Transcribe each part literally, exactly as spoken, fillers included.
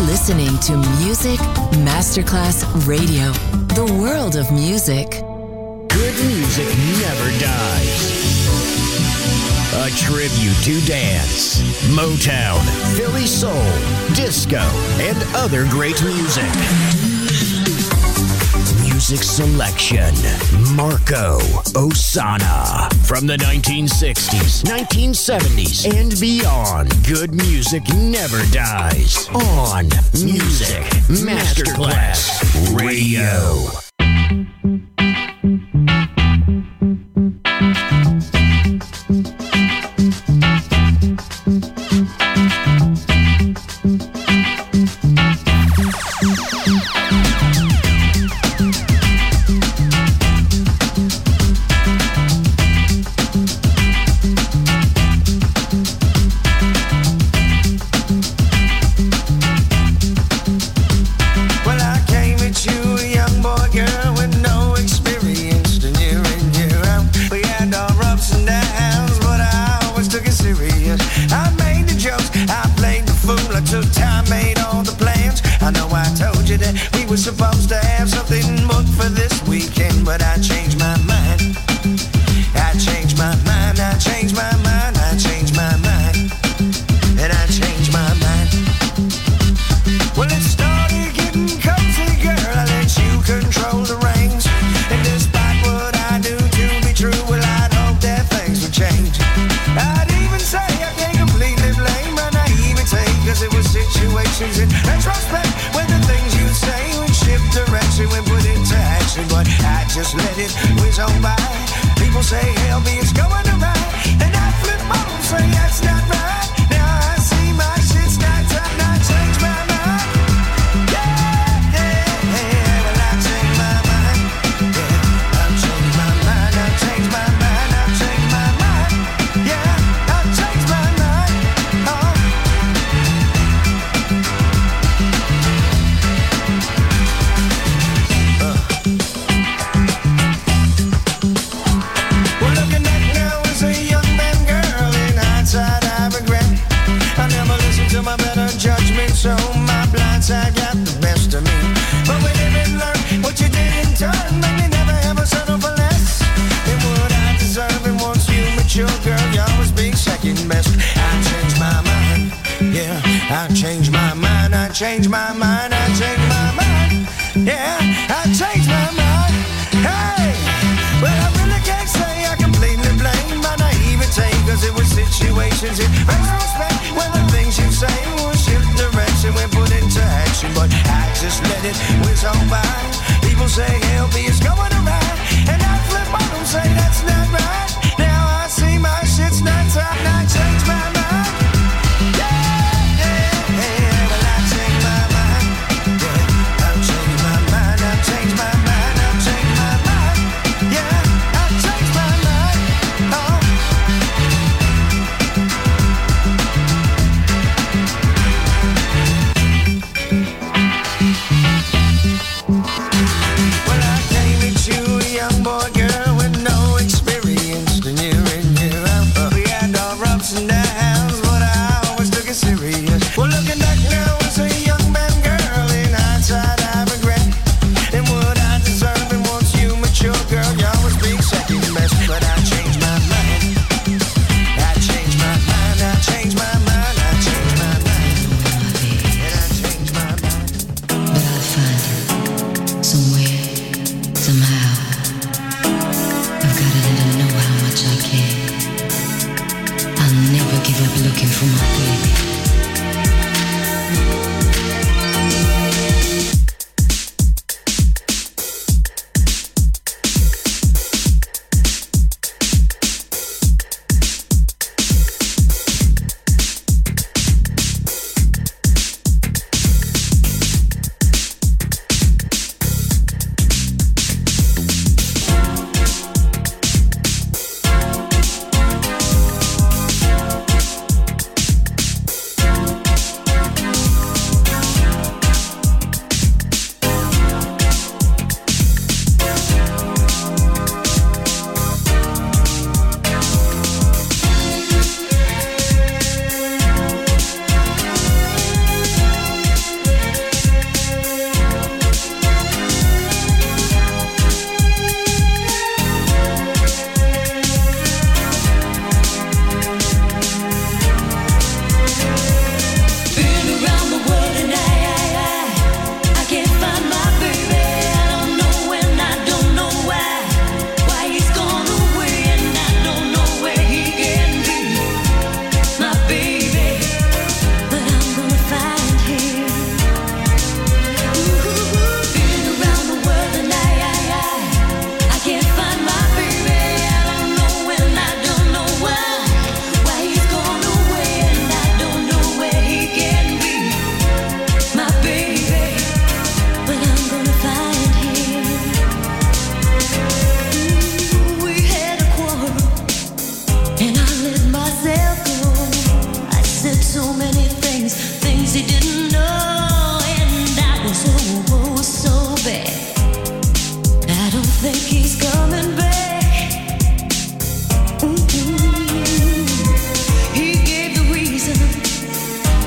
listening to Music Masterclass Radio, the world of music. Good music never dies. A tribute to dance, Motown, Philly soul, disco, and other great music. Music selection, Marco Ossanna. From the nineteen sixties, nineteen seventies, and beyond, good music never dies. On Music Masterclass Radio. I'll never give up looking for my baby.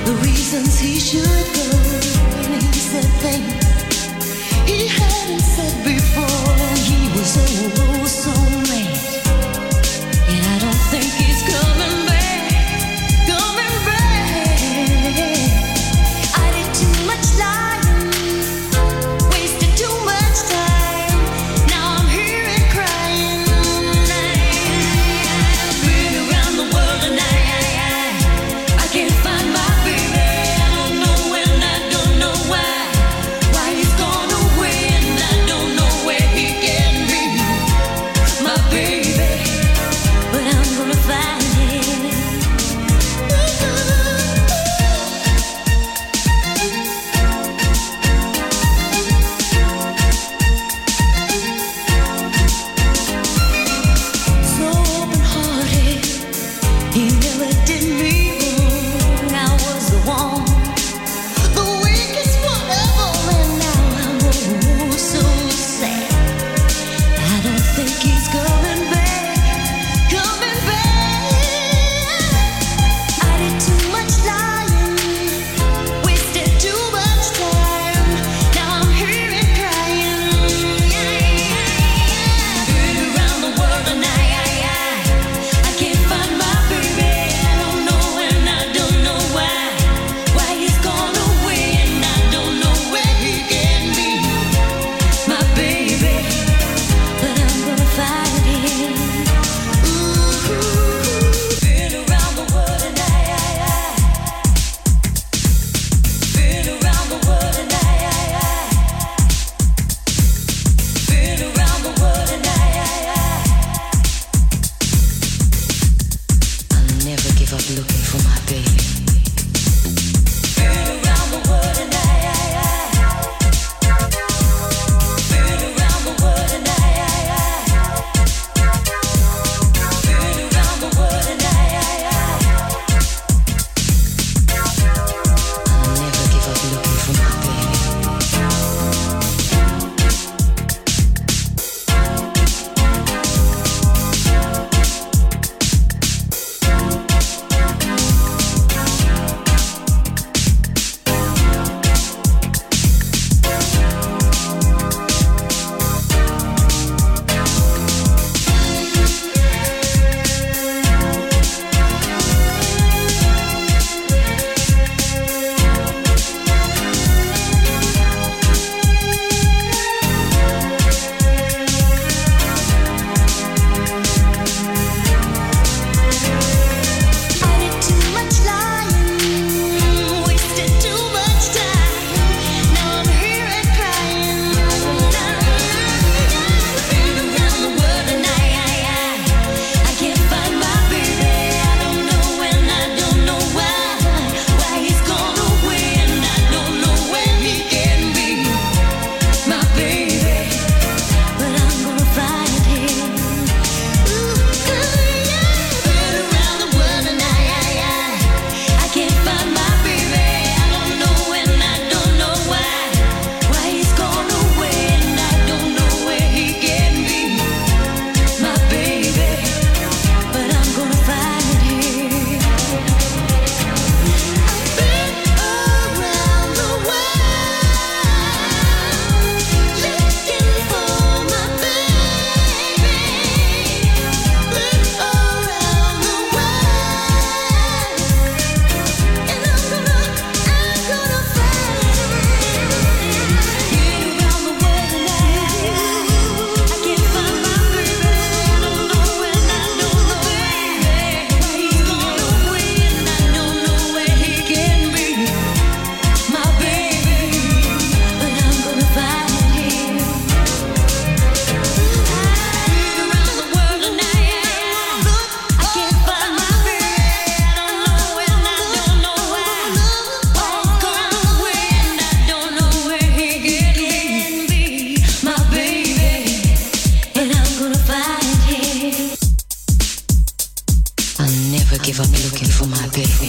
give up looking for my baby.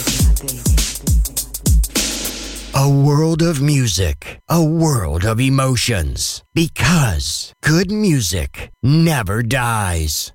A world of music, a world of emotions, because good music never dies.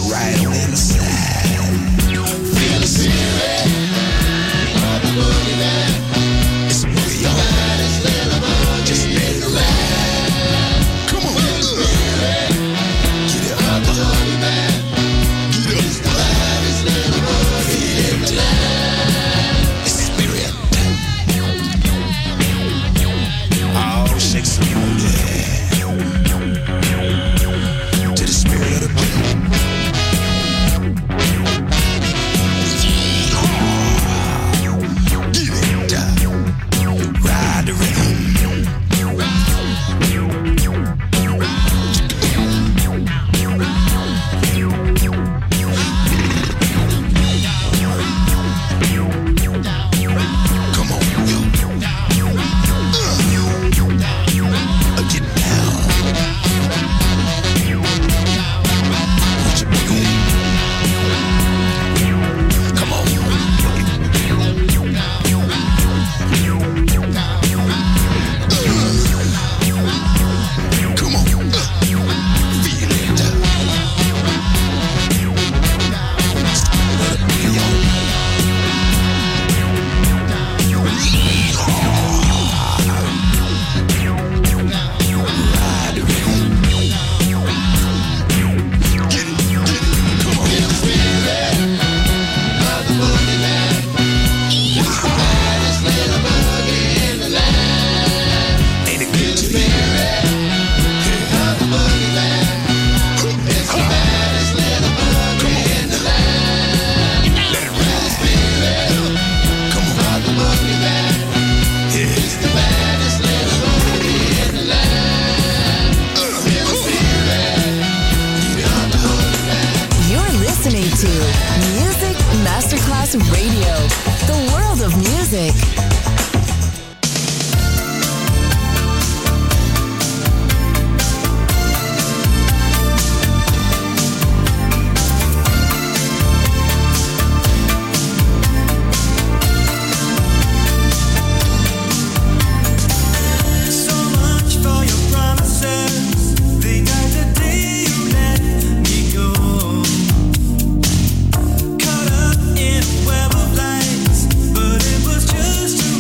right on the inside. Feel the spirit of the boogeyman. It's a boogie, y'all. Just let it ride. Come on, get up. Get up, boogeyman. Get up. Feel it. It's spirit. Oh, shake some booty. To the spirit of the boogie. Ride the rhythm. Come on, yo. Uh, get down. Put your boogie. Come on. Come on, uh, feel it. Let it be on. Ride the rhythm. Get it, get it, come on. Feel the spirit of the boogeyman. It's the baddest little boogie in the land. Ain't it good to you? Of the boogeyman. It's the baddest little boogie in the land. Let it ride. Come on. Of the boogeyman. It's the baddest little boogie in the land. Feel the spirit of the boogeyman. You're listening to Music Masterclass Radio, the world of music. So much for your promises. They died the day you let me go. Caught up in a web of lights, but it was just too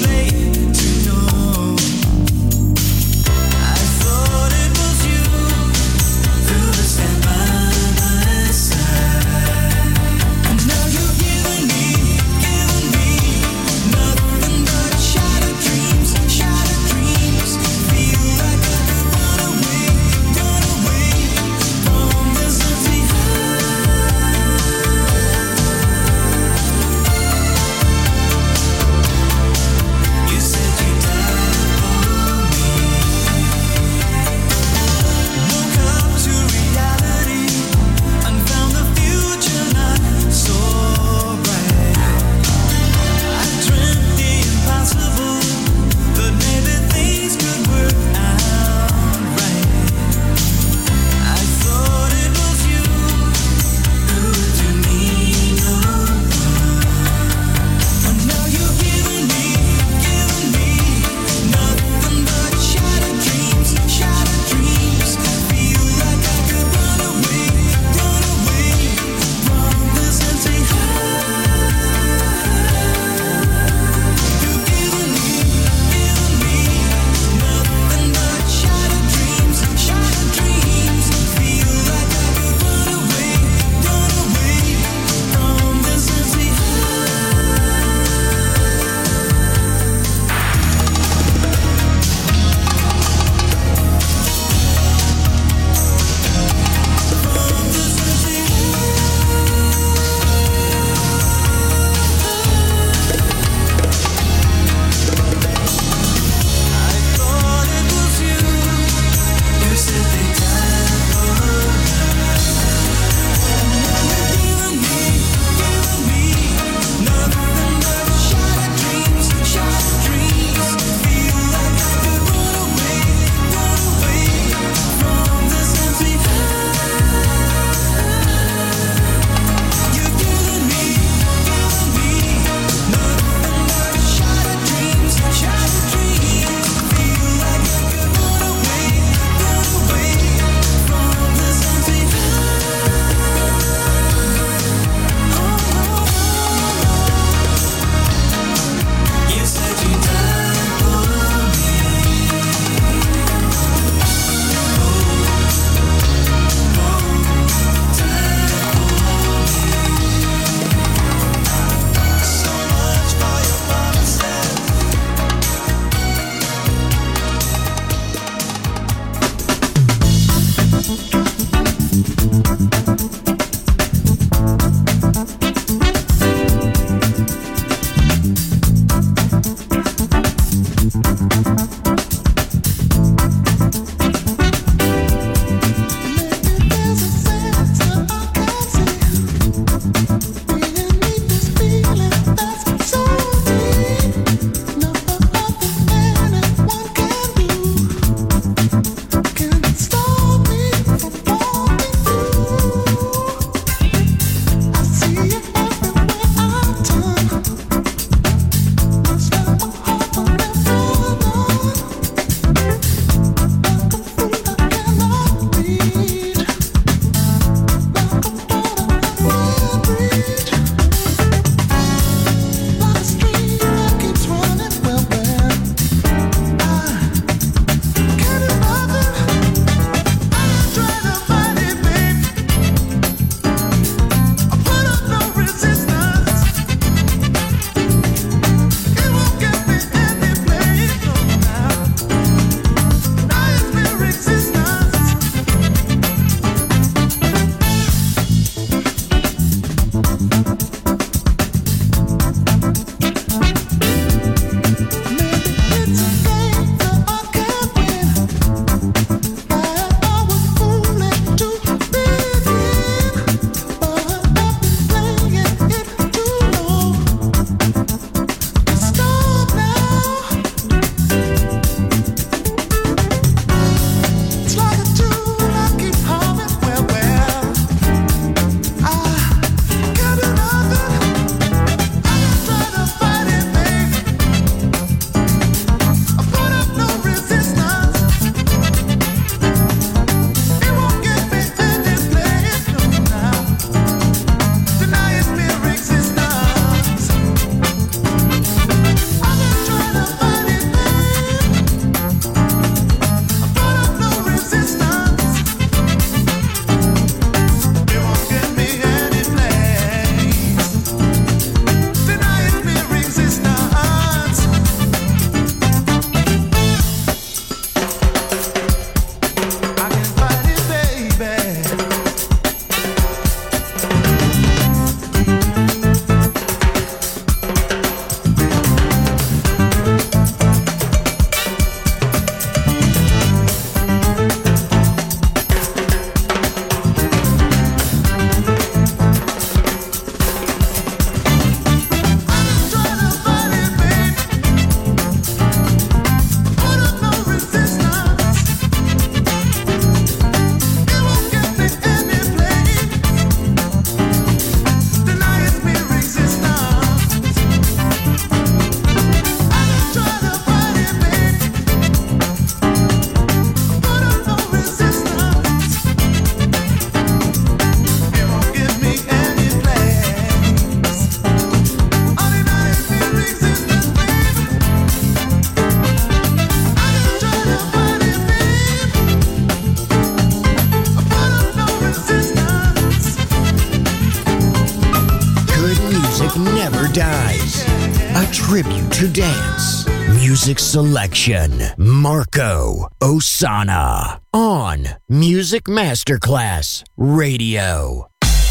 dies. A tribute to dance. Music selection. Marco Ossanna. On Music Masterclass Radio.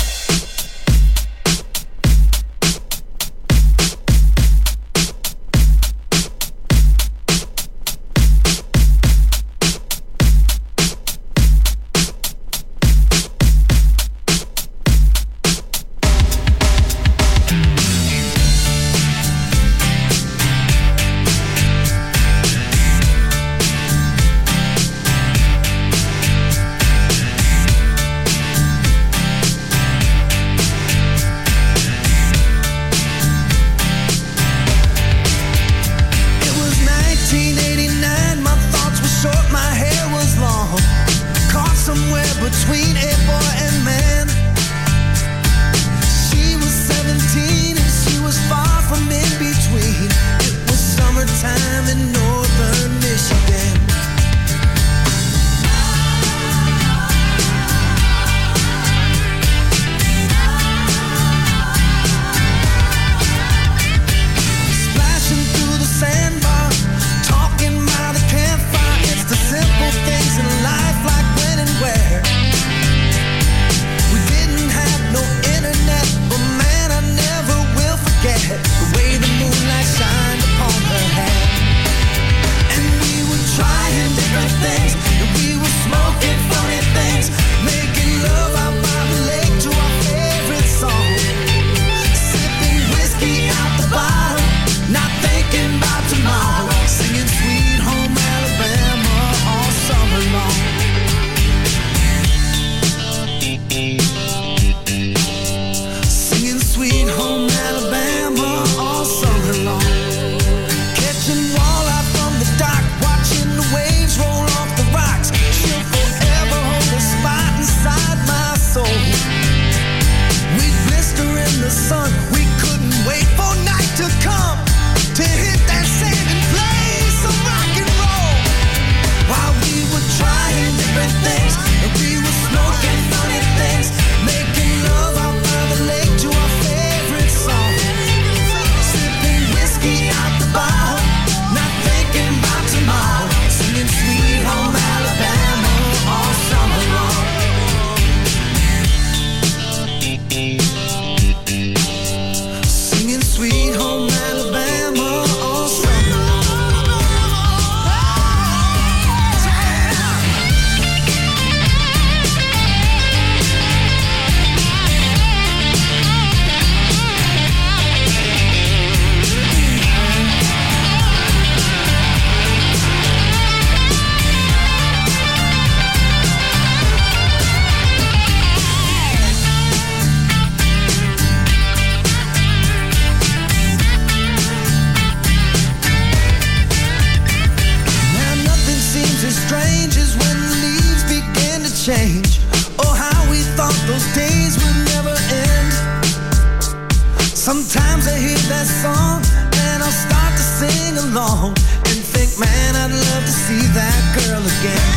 Sometimes I hear that song and I'll start to sing along and think, man, I'd love to see that girl again.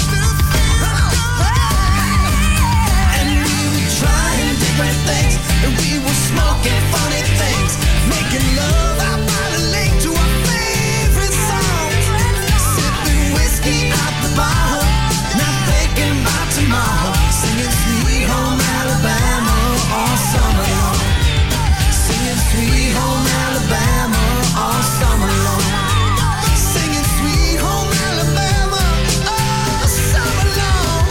And we were trying different things, and we were smoking funny things, making love out by the lake to our favorite songs, sipping whiskey out the bottle, not thinking about tomorrow, singing Sweet Home Alabama all summer long. Sweet Home Alabama all summer long. Singing Sweet Home Alabama all summer long.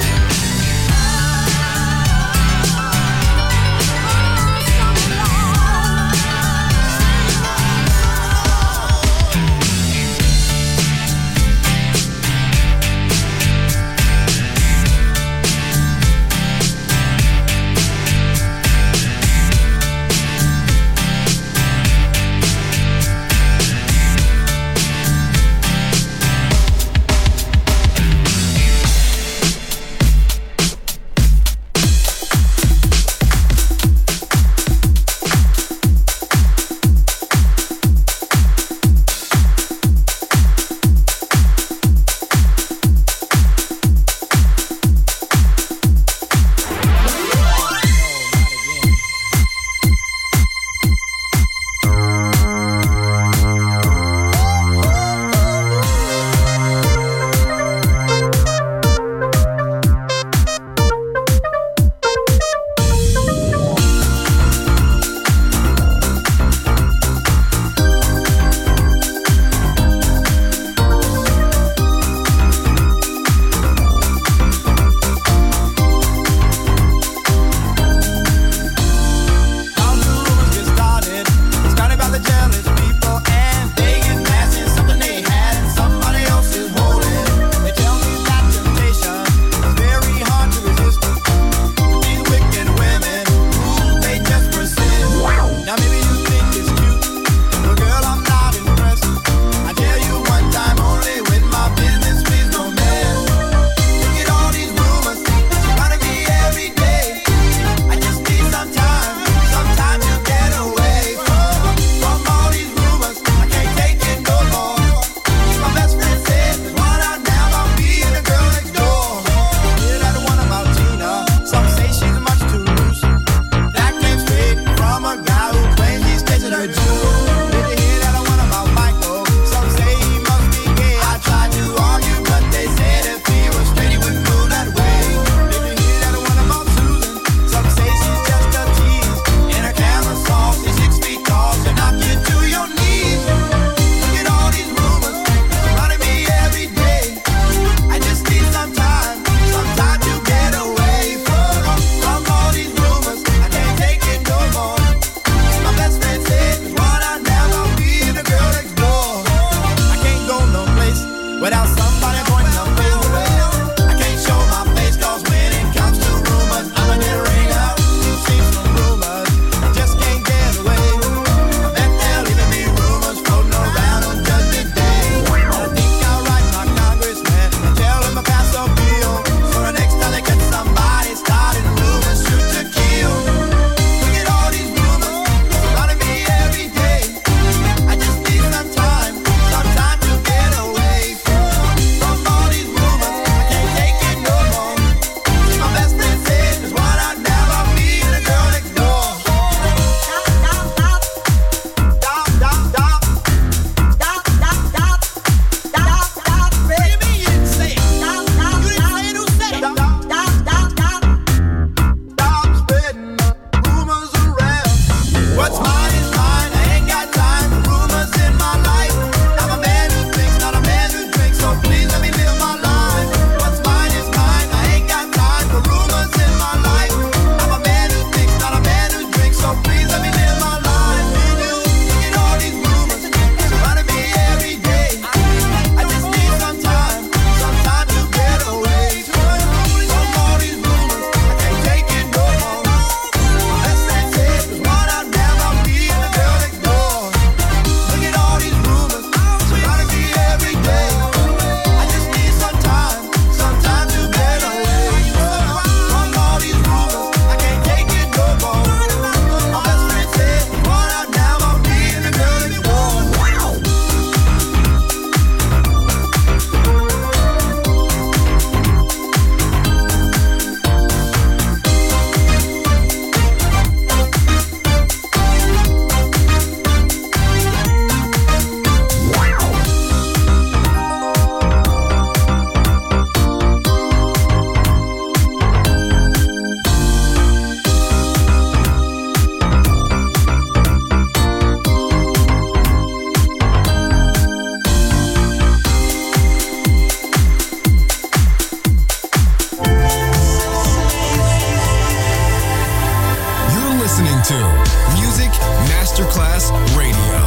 listening to Music Masterclass Radio.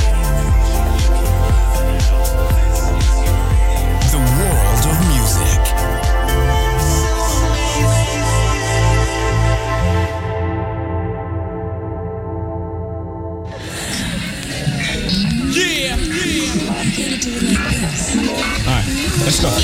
The world of music. Yeah, yeah. All right, let's go.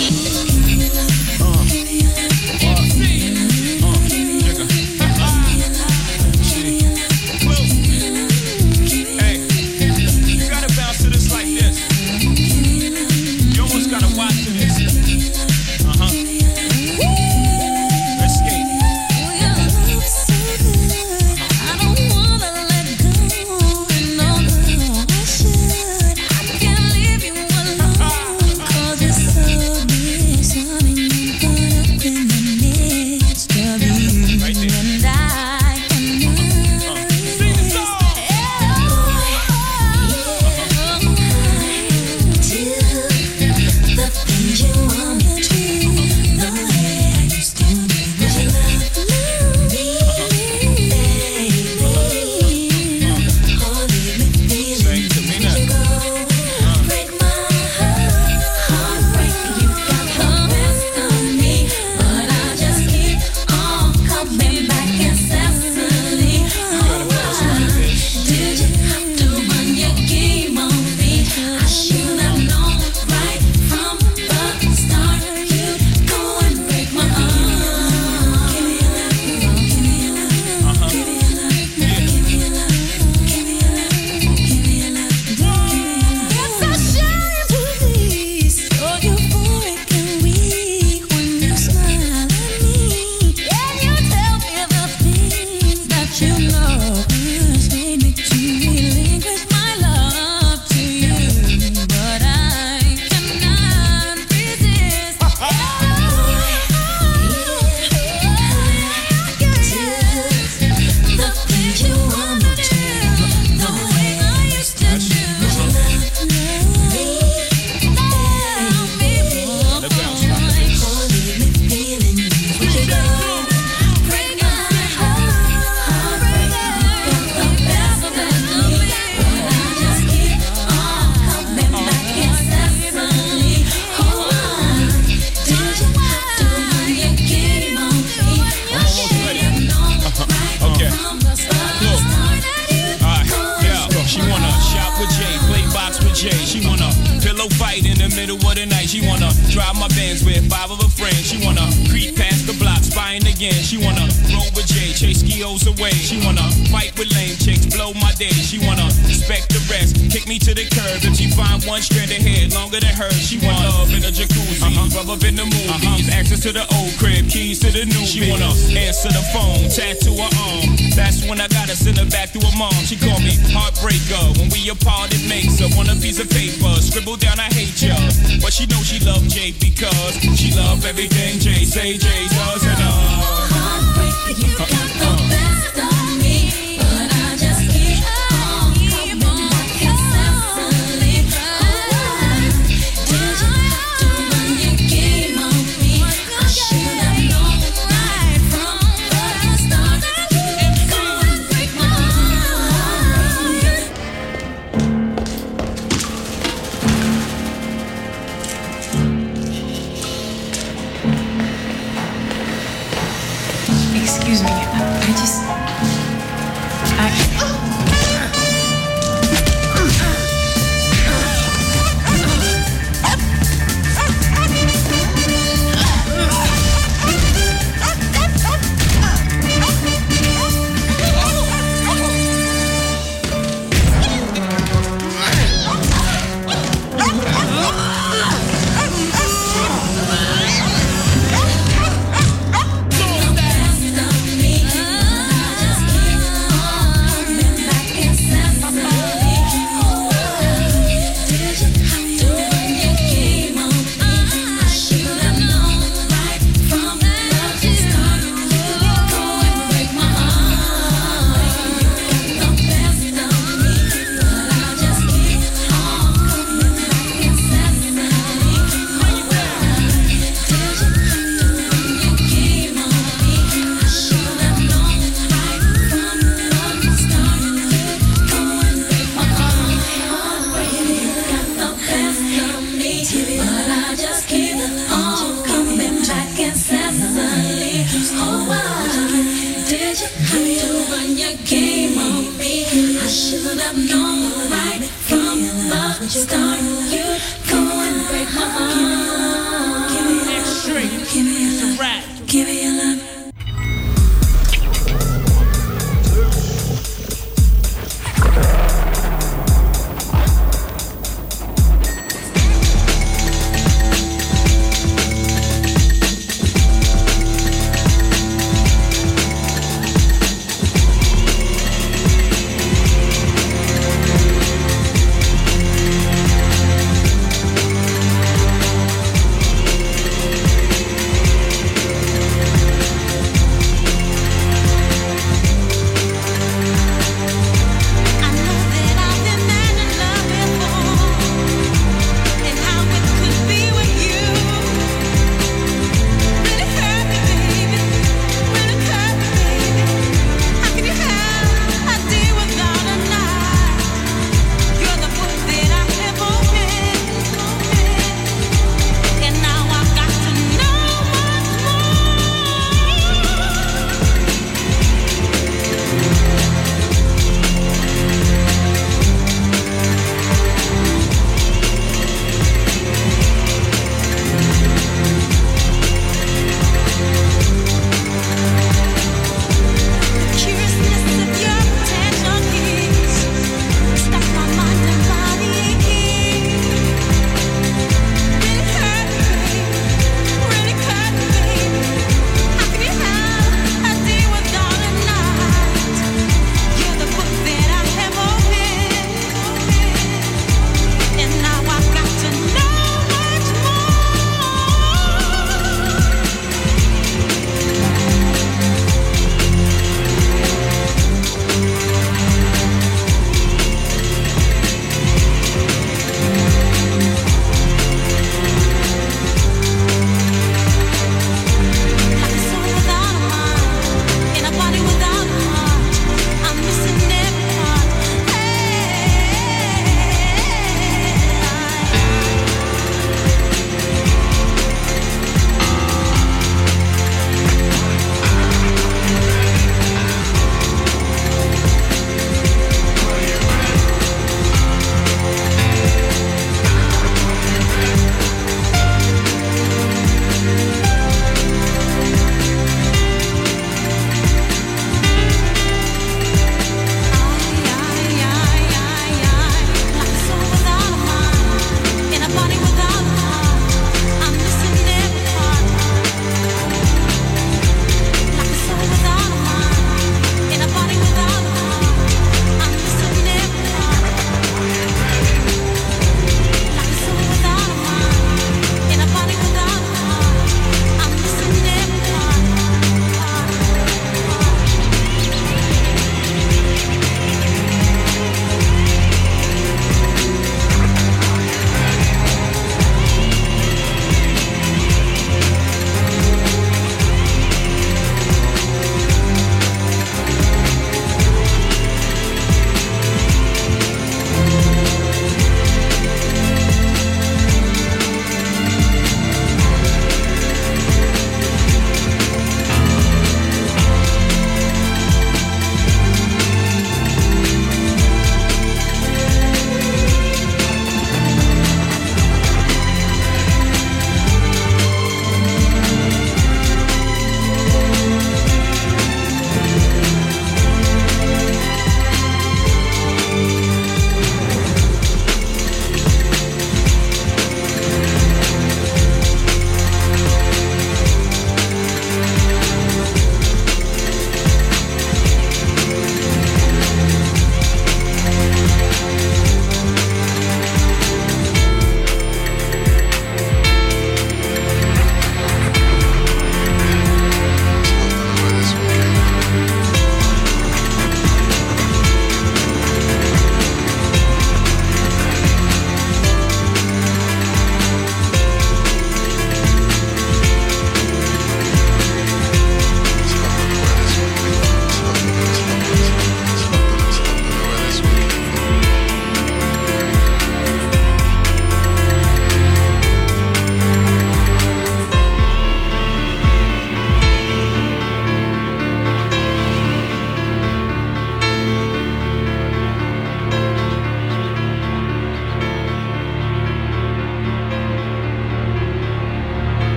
To the old crib, keys to the new. She wanna answer the phone, tattoo her arm. That's when I gotta send her back to her mom. She called me heartbreaker. When we apart, it makes her want a piece of paper. Scribble down, I hate ya. But she knows she loved Jay because she loved everything Jay say Jay does. And uh, heartbreaker, you got the best of me, but I just keep on coming back incessantly. Did you have to run your game on me? I should have known right from the start that you'd go and break my Excuse me, the game on me. I should have known right from the start. You go and break my heart. Give me your love. Give me your love. Give me your love.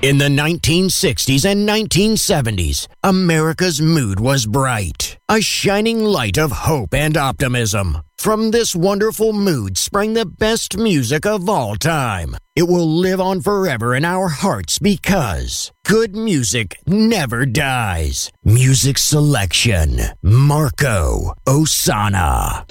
In the nineteen sixties and nineteen seventies, America's mood was bright, a shining light of hope and optimism. From this wonderful mood sprang the best music of all time. It will live on forever in our hearts because good music never dies. Music selection, Marco Ossanna.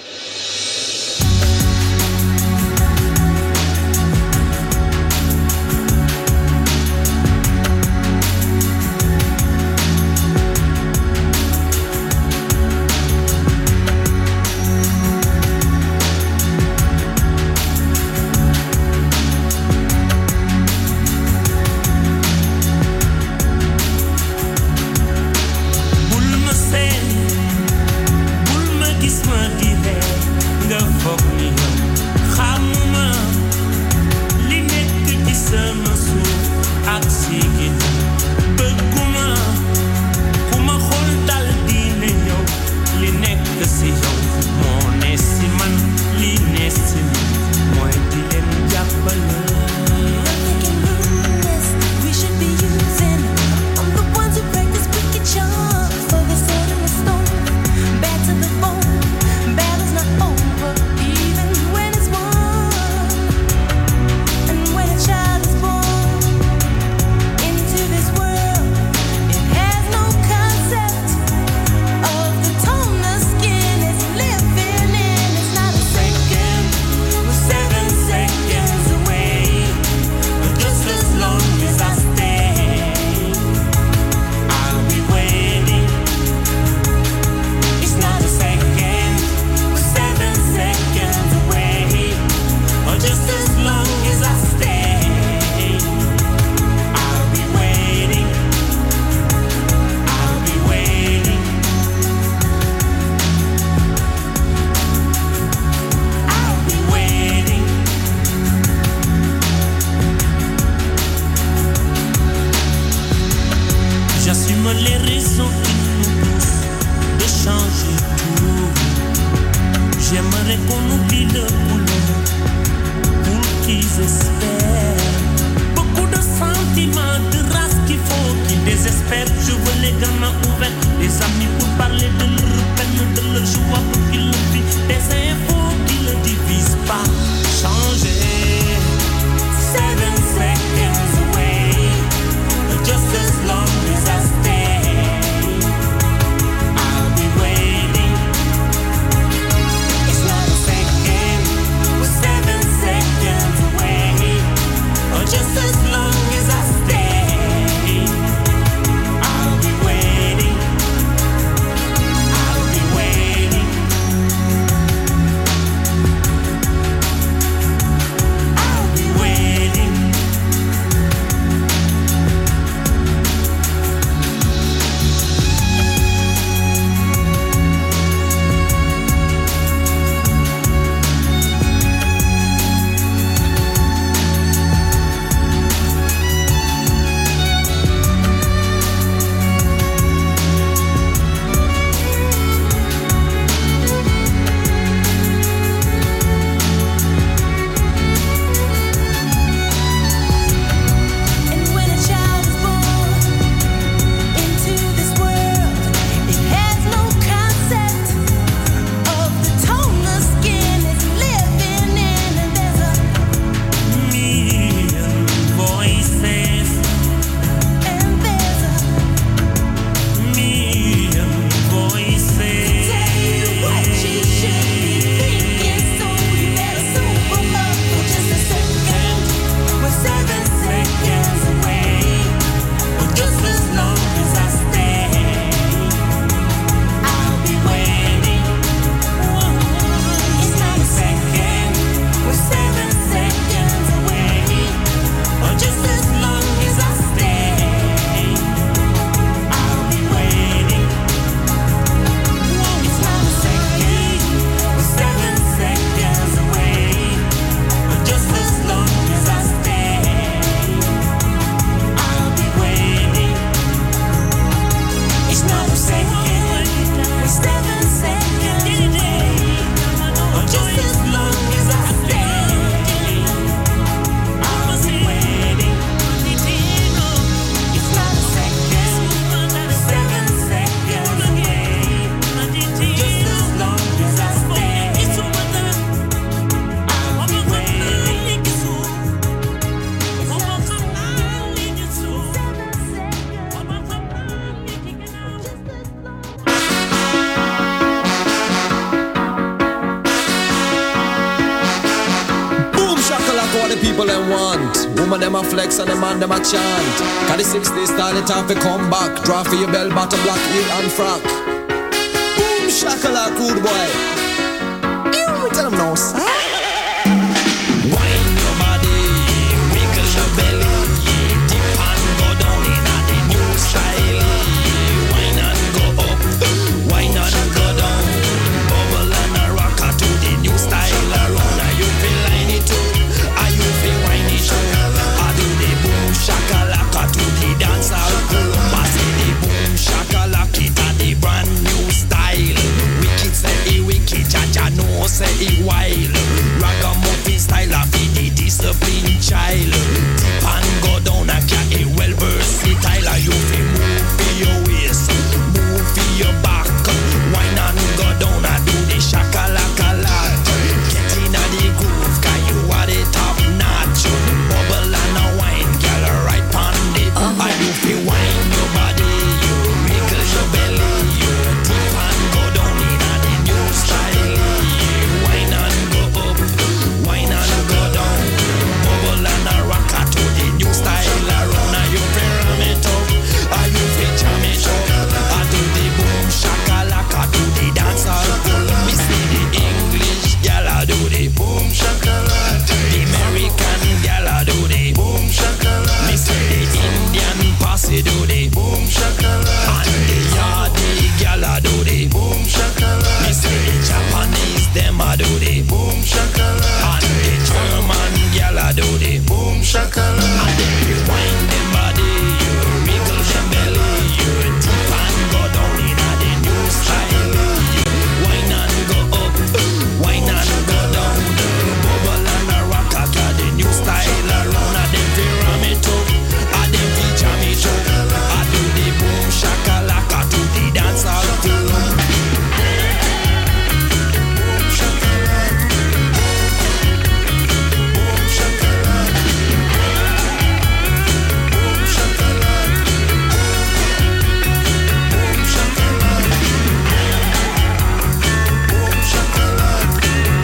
Just as long as I stay. Woman them a flex and the man them a chant. Cause the sixties style it off to come back. Draw for your bell bottom black heel and frock. Boom shakalaka good boy. You tell them no son. Wine your body, wiggle your belly, dip and go down in a the new style. Wine and go up, wine and go down. Bubble and a rocker to the new style around. Are you feel line it up? Are you feel wine it up? I do the boom shakalaka to the dance hall club. I say the boom shakalaka it a the brand new style. Wicked say it wicked, Jaja no say it wild. Ragamuffin style of the discipline child. Dip and go down a cat a well versatile. You feel move for your waist, move for your back. Wine and go down and do the shakalaka lot. Get in a the groove, cause you are the top notch. Bubble and a wine, girl right pon it. And you feel wine your body, you wiggle your belly, you dip and go down in a the new style. Wine and go up, wine and go down. Bubble and a rocker to the new style around. Are you feel ram it up? Are you feel jam it up? I do the boom shakalaka to the dance hall full. Me see the English gal I do the boom shakalaka. The American gal I do the boom shakalaka. Me see the Indian posse do the boom shakalaka. And the Yardi gal I do the boom shakalaka. Me see the Japanese them I do the boom shakalaka. And the German gal I do the boom shakalaka. And then you wind them body, you wiggle them belly, you dip and go down in a the new style. Wine and go up, wine and go down. Bubble and a rock a the new style around. A them fi ram it up, a them fi jam it up. I do the boom shakalaka to the dance hall club. Boom shakalaka, boom shakalaka, boom shakalaka, boom shakalaka, boom shakalaka,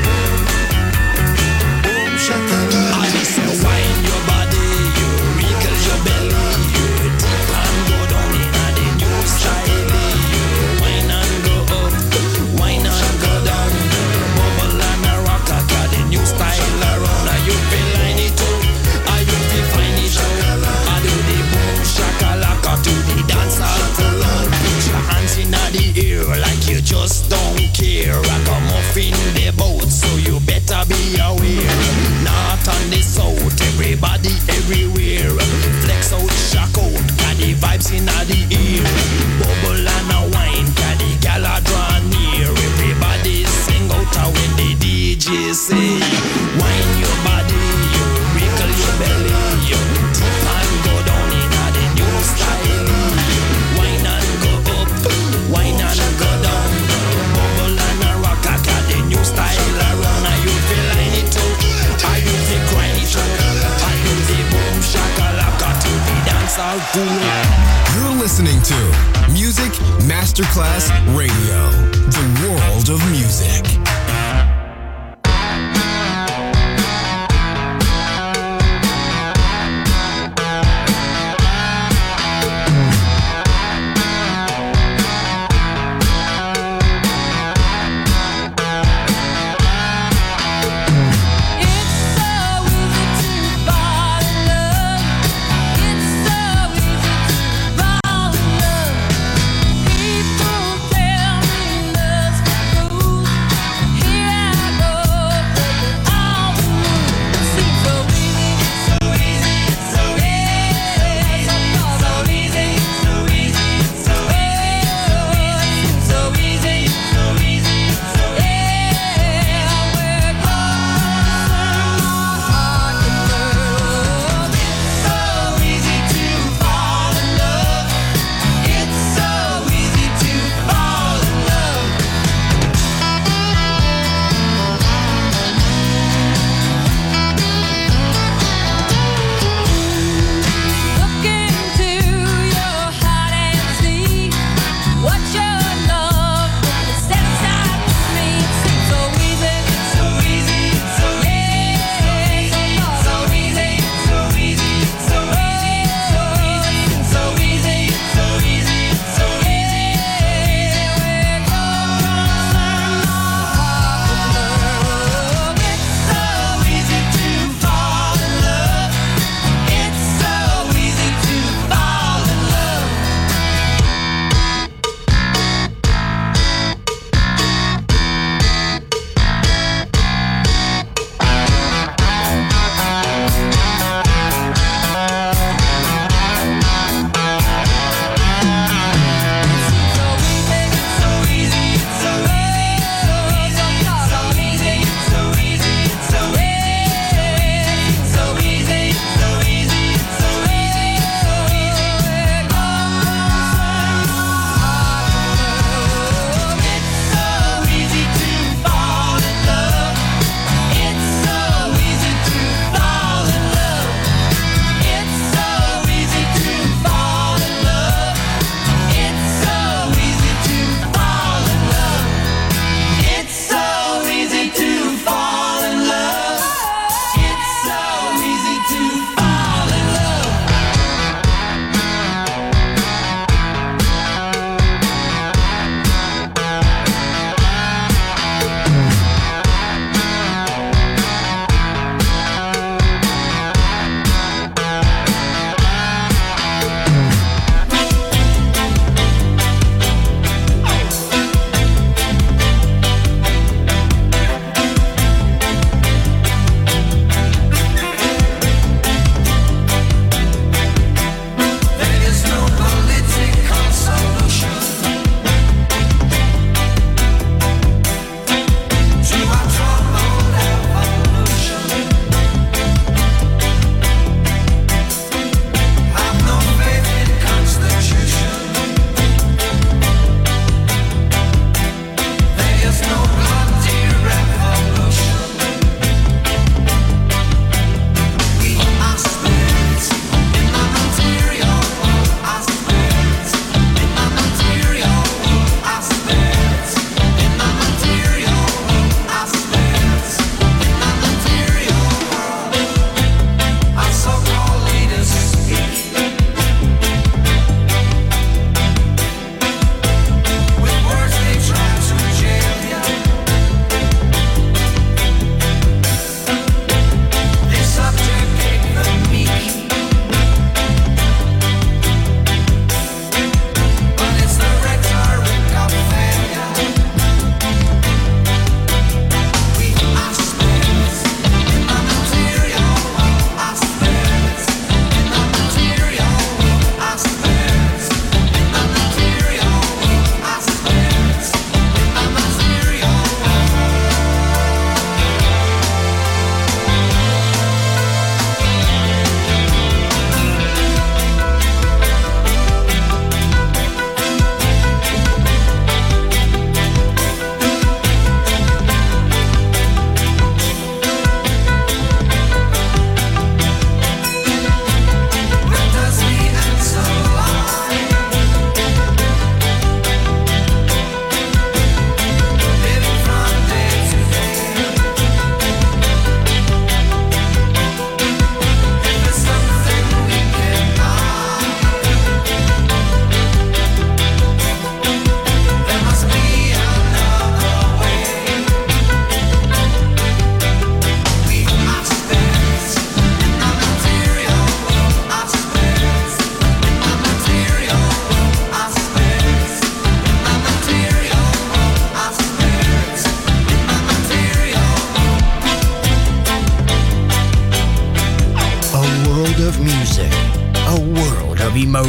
boom shakalaka. I just say wine your body, you wiggle your belly, you dip and go down in a the new style. Wine and go up, wine and go down. Bubble and a rock a the new style around. Are you feel line it up? Are you feel find it out? I do the boom shakalaka to the dance hall floor. Put your hands in the air like you just don't care. Ragamuffin the boat, so you better be aware. North and the south, everybody everywhere. Flex out, shock out, got the vibes in the air. Bubble and a wine, got the gala draw near. Everybody sing out when the D J say, wine your body, you wiggle your belly, you dip and go down in a the new style. Wine and go up, wine and go down. Bubble and a rock a the new style around. Are you feel line it up? Are you feel grind it up? Are you the boom shakalaka to the dance hall pool? You're listening to Music Masterclass Radio, the world of music. People tell me love's the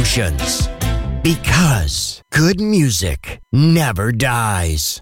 emotions. Because good music never dies.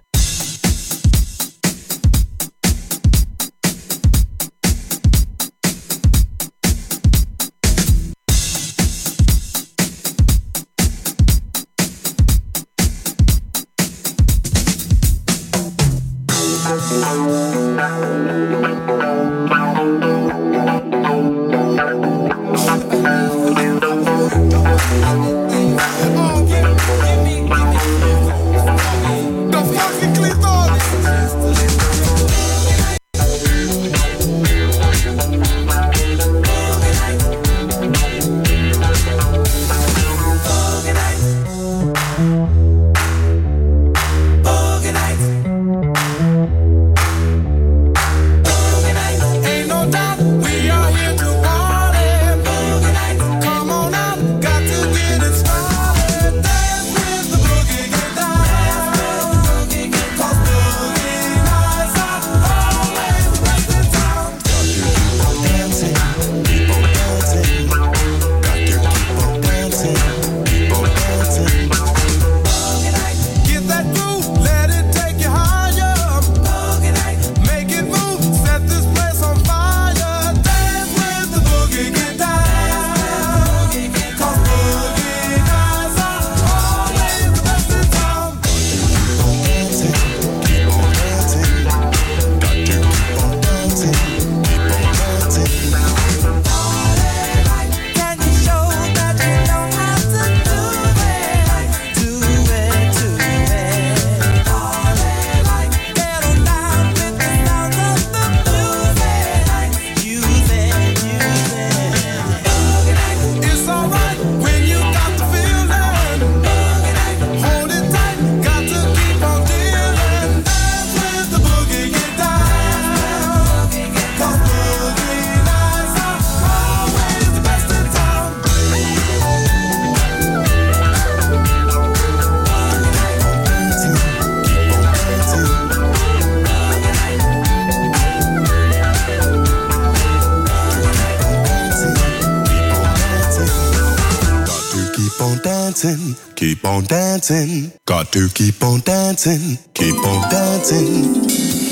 Keep on dancing, got to keep on dancing, keep on dancing.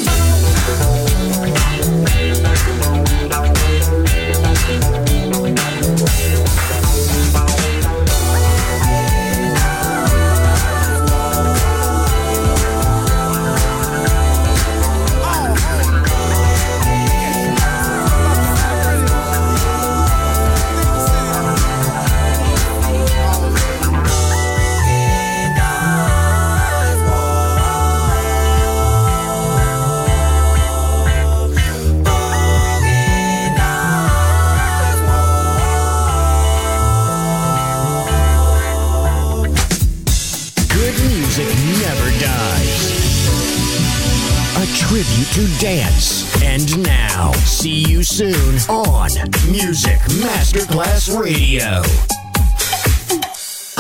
Tribute to dance. And now, see you soon on Music Masterclass Radio.